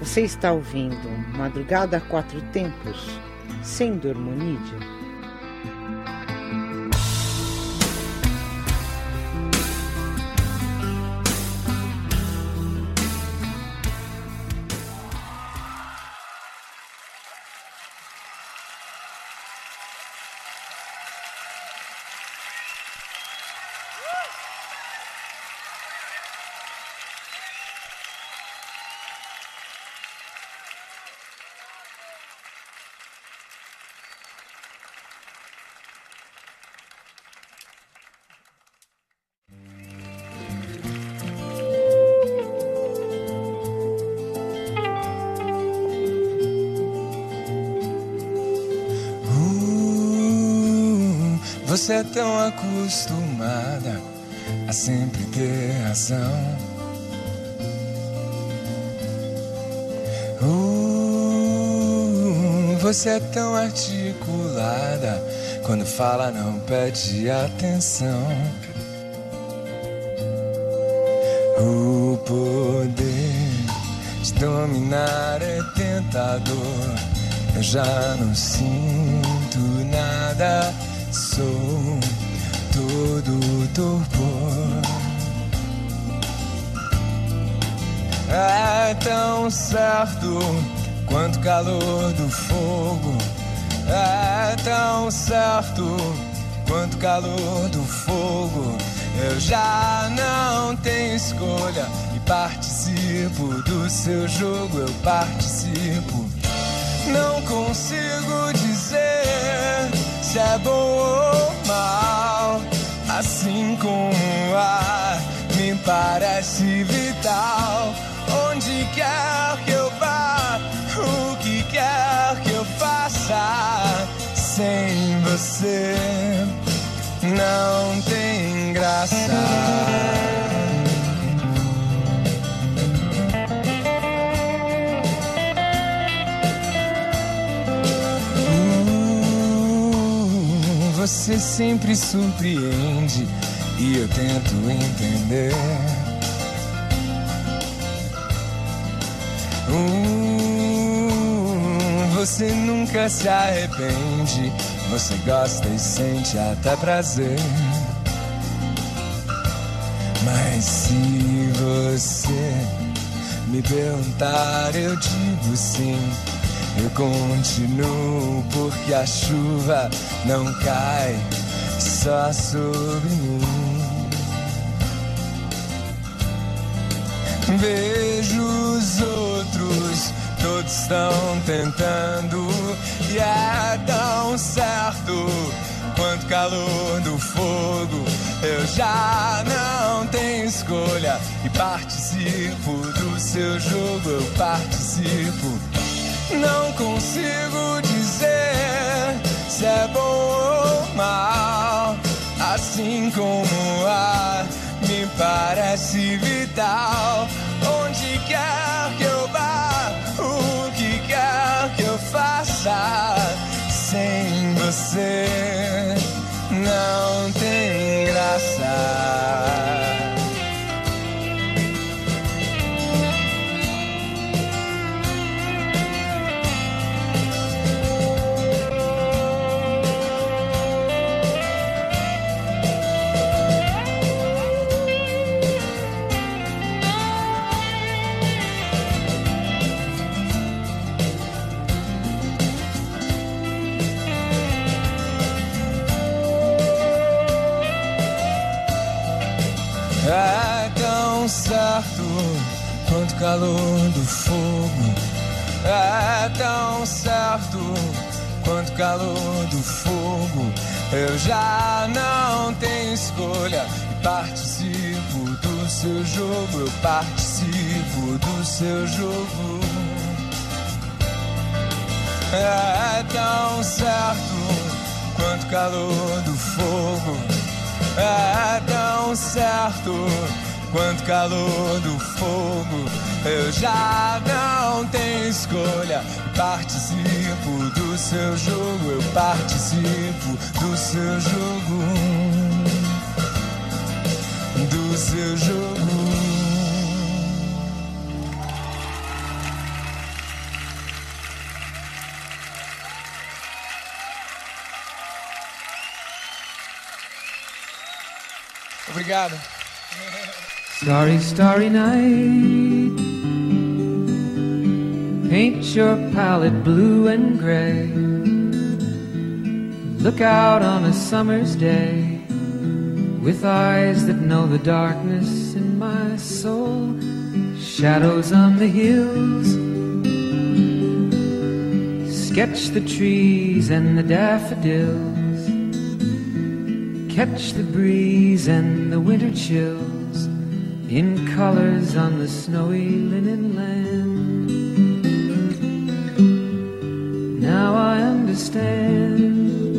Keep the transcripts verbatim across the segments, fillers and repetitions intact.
Você está ouvindo Madrugada a Quatro Tempos, sem Dormonide. Você é tão acostumada a sempre ter razão. Uh, você é tão articulada, quando fala não pede atenção. O poder de dominar é tentador. Eu já não sinto nada. Sou todo torpor. É tão certo quanto o calor do fogo. É tão certo quanto o calor do fogo. Eu já não tenho escolha e participo do seu jogo. Eu participo. Não consigo dizer se é bom ou mal, assim como o ar me parece vital. Onde quer que eu vá, o que quer que eu faça, sem você não tem graça. Você sempre surpreende e eu tento entender. Uh, você nunca se arrepende, você gosta e sente até prazer. Mas se você me perguntar, eu digo sim. Eu continuo porque a chuva não cai só sobre mim. Vejo os outros, todos estão tentando, e é tão certo quanto o calor do fogo. Eu já não tenho escolha e participo do seu jogo. Eu participo. Não consigo dizer se é bom ou mal, assim como o ar me parece vital. Onde quer que eu vá, o que quer que eu faça, sem você não tem graça. É tão certo quanto o calor do fogo. É tão certo quanto o calor do fogo. Eu já não tenho escolha e participo do seu jogo. Eu participo do seu jogo. É tão certo quanto o calor do fogo. É tão certo quanto calor do fogo. Eu já não tenho escolha, participo do seu jogo. Eu participo do seu jogo, do seu jogo. Obrigado. Starry, starry night, paint your palette blue and gray. Look out on a summer's day with eyes that know the darkness in my soul. Shadows on the hills, sketch the trees and the daffodils, catch the breeze and the winter chills in colors on the snowy linen land. Now I understand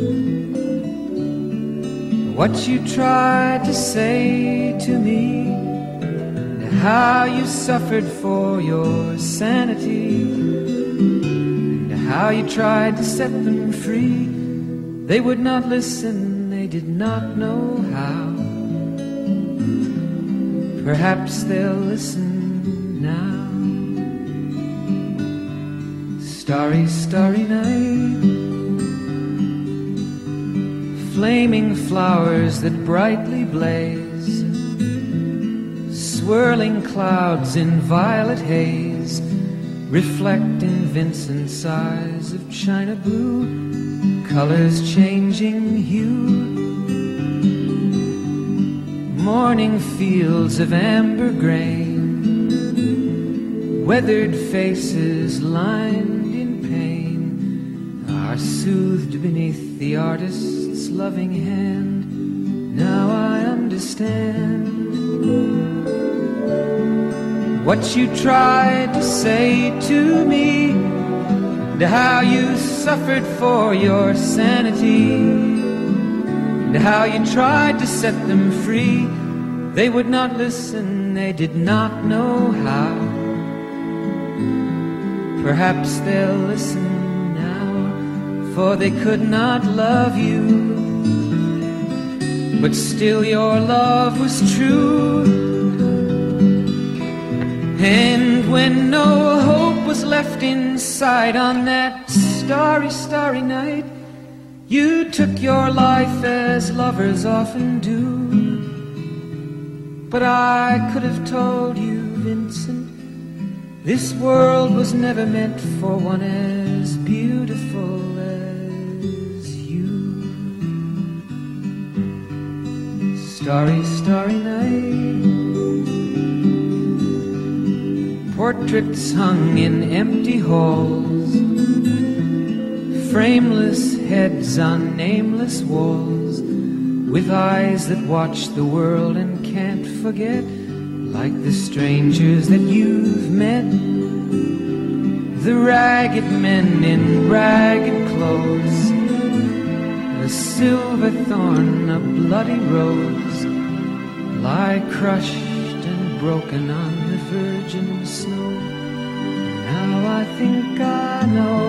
what you tried to say to me, and how you suffered for your sanity, and how you tried to set them free. They would not listen, they did not know how. Perhaps they'll listen now. Starry, starry night, flaming flowers that brightly blaze, swirling clouds in violet haze, reflect in Vincent's eyes of china blue, colors changing hue. Morning fields of amber grain, weathered faces lined in pain, are soothed beneath the artist's loving hand. Now I understand what you tried to say to me, and how you suffered for your sanity, and how you tried to set them free. They would not listen, they did not know how. Perhaps they'll listen now, for they could not love you, but still your love was true. And when no hope was left inside on that starry, starry night, you took your life as lovers often do. But I could have told you, Vincent, this world was never meant for one as beautiful as you. Starry, starry night, portraits hung in empty halls, frameless heads on nameless walls, with eyes that watch the world and can't forget, like the strangers that you've met, the ragged men in ragged clothes, a silver thorn, a bloody rose, lie crushed and broken on the virgin snow. Now I think I know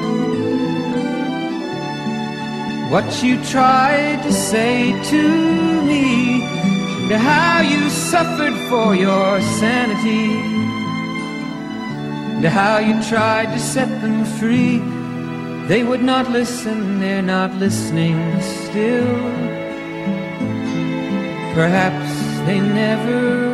what you tried to say to me, and how you suffered for your sanity, and how you tried to set them free. They would not listen, they're not listening still. Perhaps they never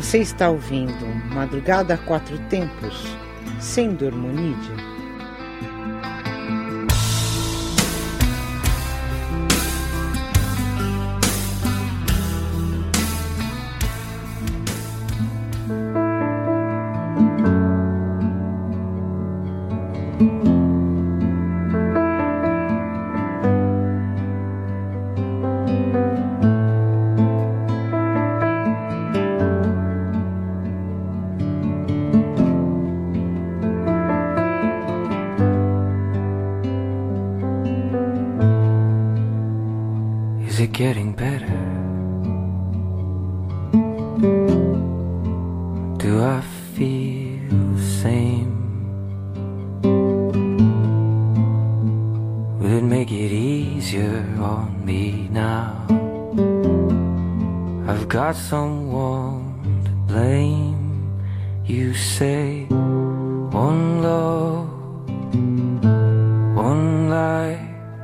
Você está ouvindo Madrugada a Quatro Tempos, sem Dormonide. Is it getting better? Do I feel the same? Will it make it easier on me now? I've got someone to blame. You say one love, one life.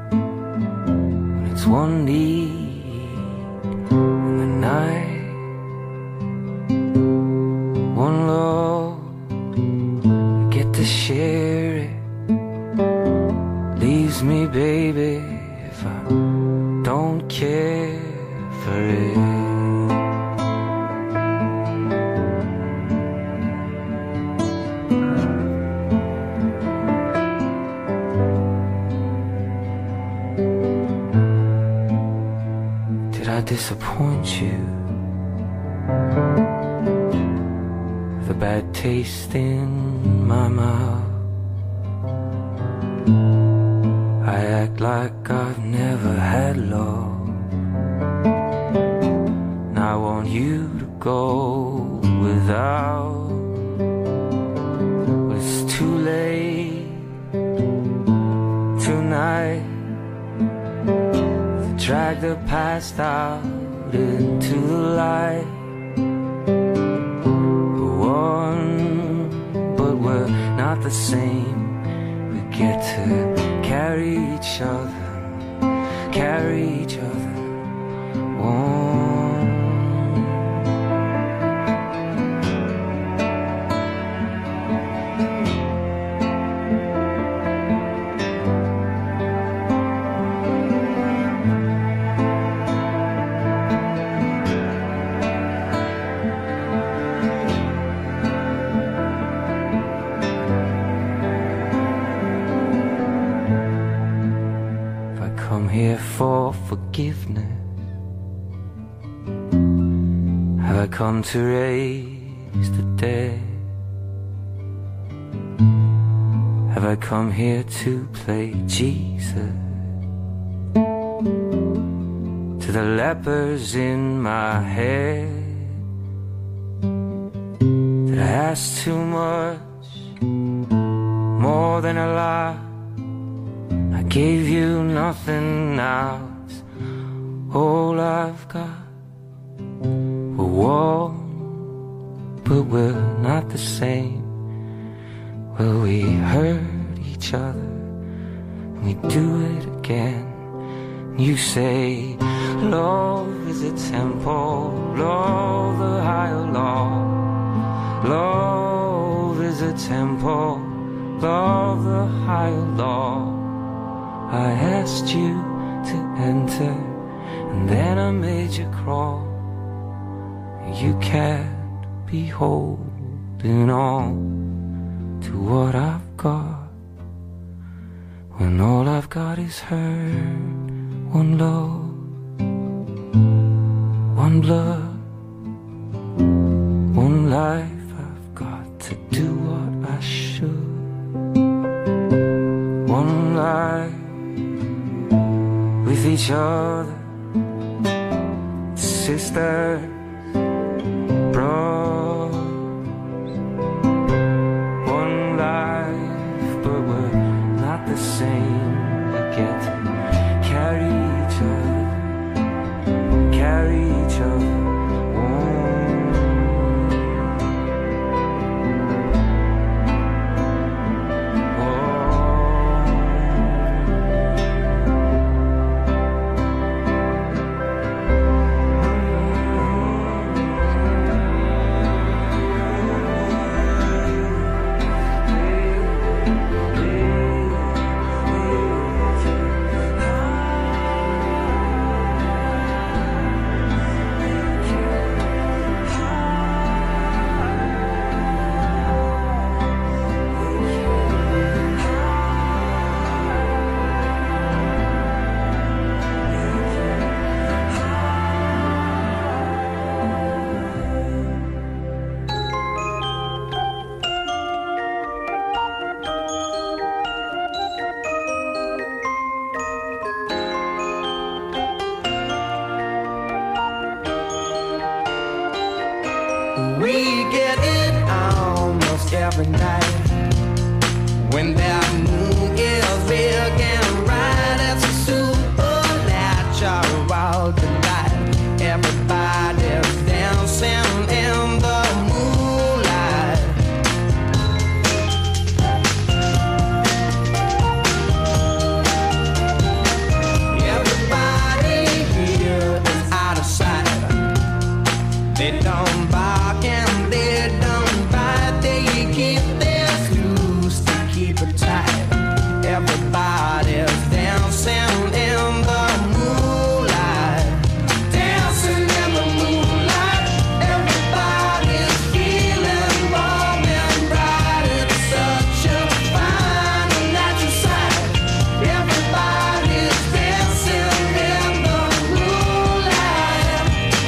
It's one need in the night, one love, I get to share it. Leaves me, baby, if I don't care for it. Did I disappoint you? The bad taste in my mouth. I act like I've never had love. Now I want you to go without. But it's too late tonight. Drag the past out into the light. One, but we're not the same. We get to carry each other, carry each other. One. Here for forgiveness, have I come to raise the dead? Have I come here to play Jesus to the lepers in my head? Did I ask too much, more than a lie? I gave you nothing now, it's all I've got. We're one, but we're not the same. Well, we hurt each other, and we do it again. You say, love is a temple, love the higher law. Love is a temple, love the higher law. I asked you to enter, and then I made you crawl. You can't be holding on to what I've got, when all I've got is hurt. One love, one blood, one life. I've got to do what I should. One life with each other, sisters, brothers. One life, but we're not the same. We get to carry each other, carry each other. We get it almost every night. When that moon is big and bright, it's a supernatural delight. Everybody's dancing in the moonlight. Everybody here is out of sight. They don't bark and they don't bite. They keep their screws to keep it tight. Everybody's dancing in the moonlight. Dancing in the moonlight. Everybody's feeling warm and bright. It's such a fine and natural sight. Everybody's dancing in the moonlight.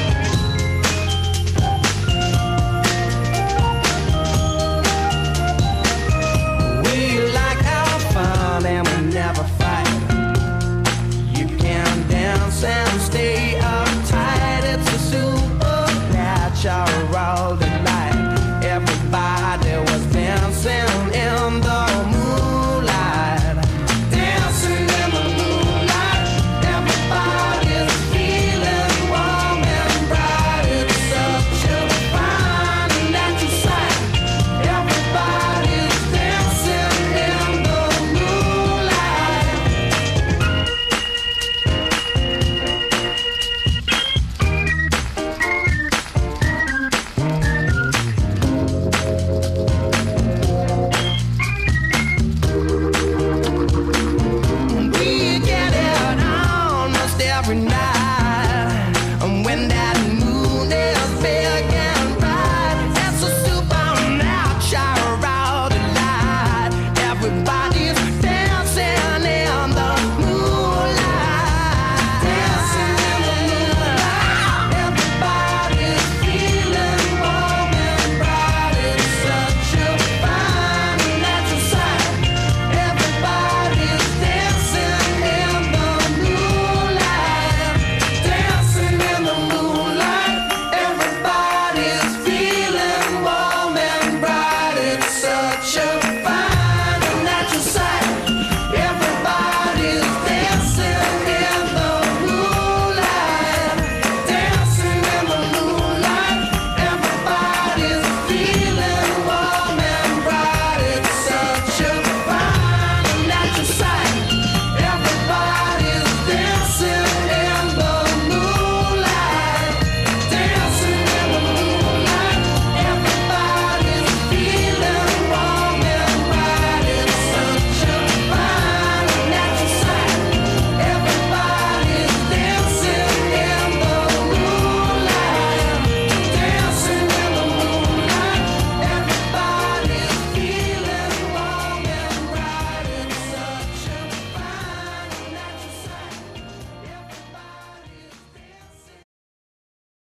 We like our fun and we never fight. You can dance and stay